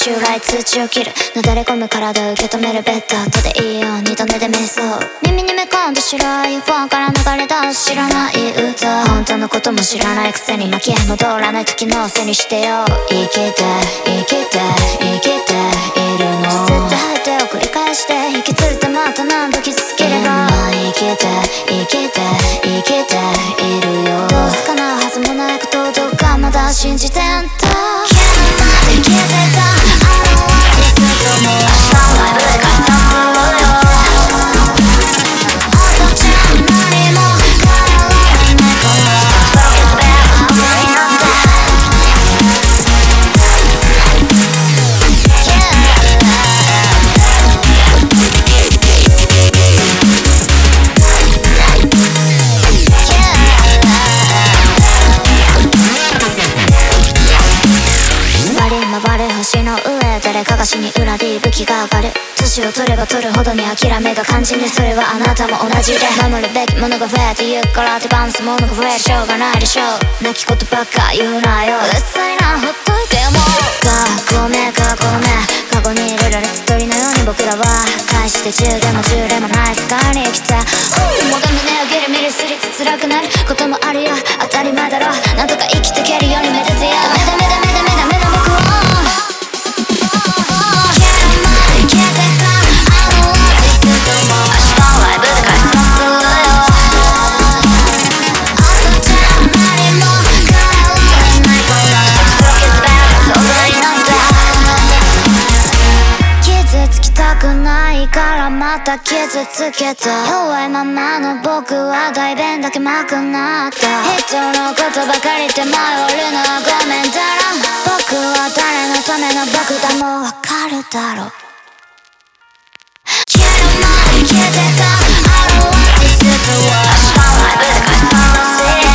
襲来通知を切るなだれ込む体を受け止めるベッド後でいいようにと寝で瞑想耳にめ込んだ白いフォンから流れ出す知らない歌本当のことも知らないくせに巻き戻らない時のせいにしてよ生きて生きて生きているの吸って吐いてを繰り返して引きつれてまた何度傷つければ生きて生きて生きているよどうすかなはずもないことどうかまだ信じてんだ生きてたあのアーティストも明日のライブで解散するよあとじゃ何も変えられないからそろそろ決別の時なんだ星の上誰かが死に裏で息吹が上がる年を取れば取るほどに諦めが肝心でそれはあなたも同じで守るべきものが増えてゆくから手放すものが増えるしょうがないでしょう泣き言ばっか言うなようっさいなほっといてもごめん過去に入れられた鳥のように僕らは大して10でも10でもない世界に生きてもが胸をギリミリすりつ辛くなることもあるよ当たり前だろなんとか生きてけるようにめでてよダメだ僕はからまた傷つけた弱いままの僕は代弁だけまくなった人のことばかりで迷うのはごめんだろ僕は誰のための僕だもうわかるだろ消えるまで消えてたあのアーティストは明日のライブで解散する